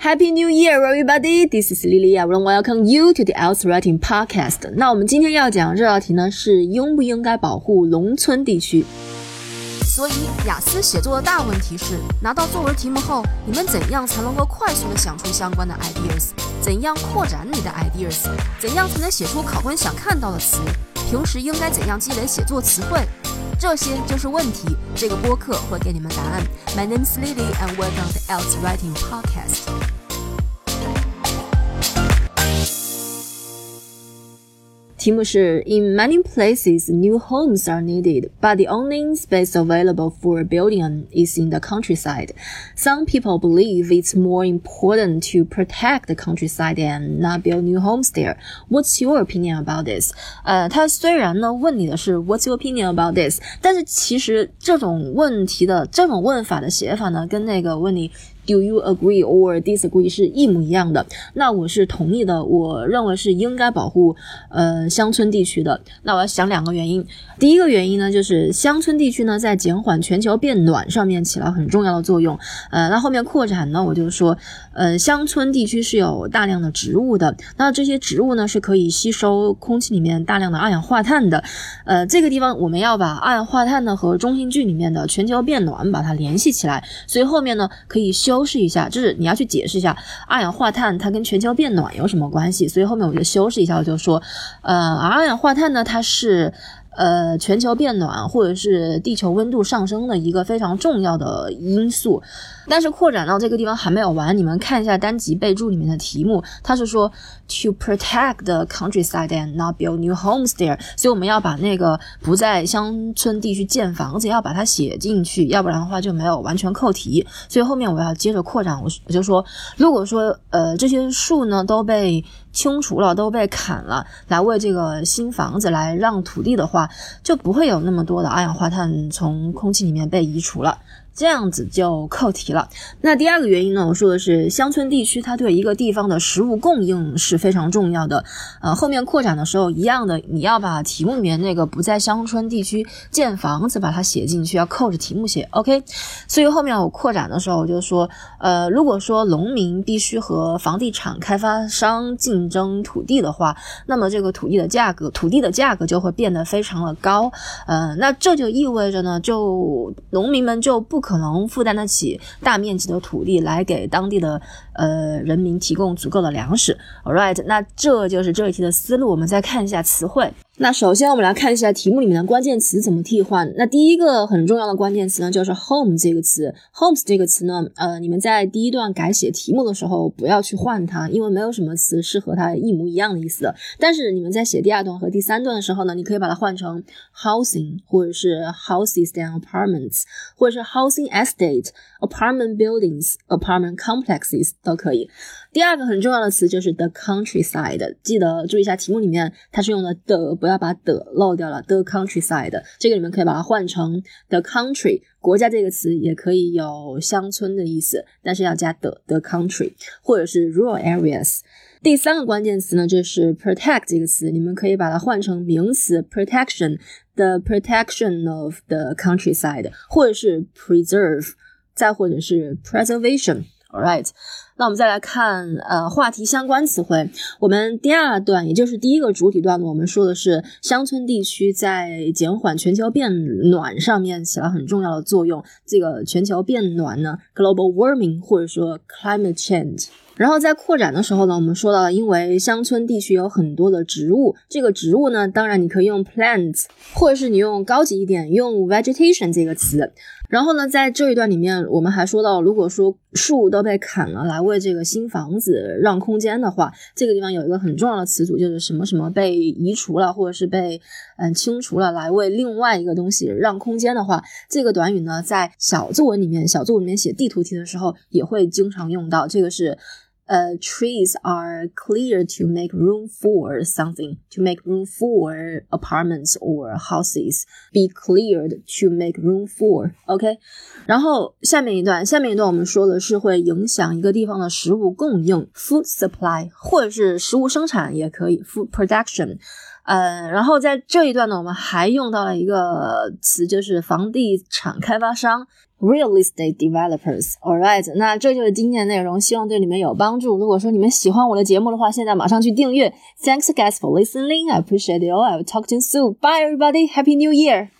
Happy New Year, everybody! This is Lily. I want to welcome you to the IELTS Writing Podcast. 那我们今天要讲这道题呢，是应不应该保护农村地区。 所以雅思写作的大问题是，拿到作文题目后，你们怎样才能够快速的想出相关的 ideas？ 怎样扩展你的 ideas？ 怎样才能写出考官想看到的词？平时应该怎样积累写作词汇？这些就是问题。这个播客会给你们答案。My name is Lily and welcome to the IELTS Writing Podcast. 题目是 In many places, new homes are needed, but the only space available for building is in the countryside. Some people believe it's more important to protect the countryside and not build new homes there. What's your opinion about this? 他虽然呢问你的是 What's your opinion about this? 但是其实这种问题的这种问法的写法呢，跟那个问你Do you agree or disagree 是一模一样的。那我是同意的，我认为是应该保护乡村地区的。那我要想两个原因。第一个原因呢，就是乡村地区呢在减缓全球变暖上面起了很重要的作用。那后面扩展呢，我就说乡村地区是有大量的植物的。那这些植物呢是可以吸收空气里面大量的二氧化碳的。这个地方我们要把二氧化碳呢和中性句里面的全球变暖把它联系起来，所以后面呢可以修饰一下，就是你要去解释一下二氧化碳它跟全球变暖有什么关系，所以后面我就修饰一下，我就说二氧化碳呢它是全球变暖或者是地球温度上升的一个非常重要的因素。但是扩展到这个地方还没有完，你们看一下单集备注里面的题目，它是说 to protect the countryside and not build new homes there， 所以我们要把那个不在乡村地区建房子要把它写进去，要不然的话就没有完全扣题。所以后面我要接着扩展，我就说如果说这些树呢都被清除了，都被砍了，来为这个新房子来让土地的话，就不会有那么多的二氧化碳从空气里面被移除了，这样子就扣题了。那第二个原因呢，我说的是乡村地区它对一个地方的食物供应是非常重要的。后面扩展的时候一样的，你要把题目里面那个不在乡村地区建房子把它写进去，要扣着题目写 OK。 所以后面我扩展的时候我就说如果说农民必须和房地产开发商竞争土地的话，那么这个土地的价格就会变得非常的高。那这就意味着呢，就农民们就不可能负担得起大面积的土地来给当地的人民提供足够的粮食。 Alright， 那这就是这一题的思路。我们再看一下词汇。那首先我们来看一下题目里面的关键词怎么替换。那第一个很重要的关键词呢，就是 home 这个词。 homes 这个词呢你们在第一段改写题目的时候不要去换它，因为没有什么词是和它一模一样的意思的。但是你们在写第二段和第三段的时候呢，你可以把它换成 housing 或者是 houses and apartments， 或者是 housing estate, apartment buildings, apartment complexes 都可以。第二个很重要的词就是 the countryside， 记得注意一下题目里面它是用的的，不要把的漏掉了。 the countryside 这个你们可以把它换成 the country， 国家这个词也可以有乡村的意思，但是要加的 the country， 或者是 rural areas。 第三个关键词呢就是 protect 这个词，你们可以把它换成名词 protection， the protection of the countryside， 或者是 preserve， 再或者是 preservation。 Alright， 那我们再来看话题相关词汇。我们第二段也就是第一个主体段呢，我们说的是乡村地区在减缓全球变暖上面起了很重要的作用。这个全球变暖呢 global warming 或者说 climate change。然后在扩展的时候呢，我们说到了因为乡村地区有很多的植物，这个植物呢当然你可以用 plants， 或者是你用高级一点用 vegetation 这个词。然后呢在这一段里面我们还说到，如果说树都被砍了来为这个新房子让空间的话，这个地方有一个很重要的词组，就是什么什么被移除了或者是被清除了来为另外一个东西让空间的话，这个短语呢在小作文里面写地图题的时候也会经常用到。这个是trees are cleared to make room for something, to make room for apartments or houses. Be cleared to make room for. OK? 然后下面一段我们说的是会影响一个地方的食物供应 food supply， 或者是食物生产也可以 food production。然后在这一段呢，我们还用到了一个词，就是房地产开发商。 real estate developers. Alright, 那这就是今天的内容，希望对你们有帮助。如果说你们喜欢我的节目的话，现在马上去订阅。Thanks guys for listening. I appreciate it all. I will talk to you soon. Bye everybody. Happy New Year.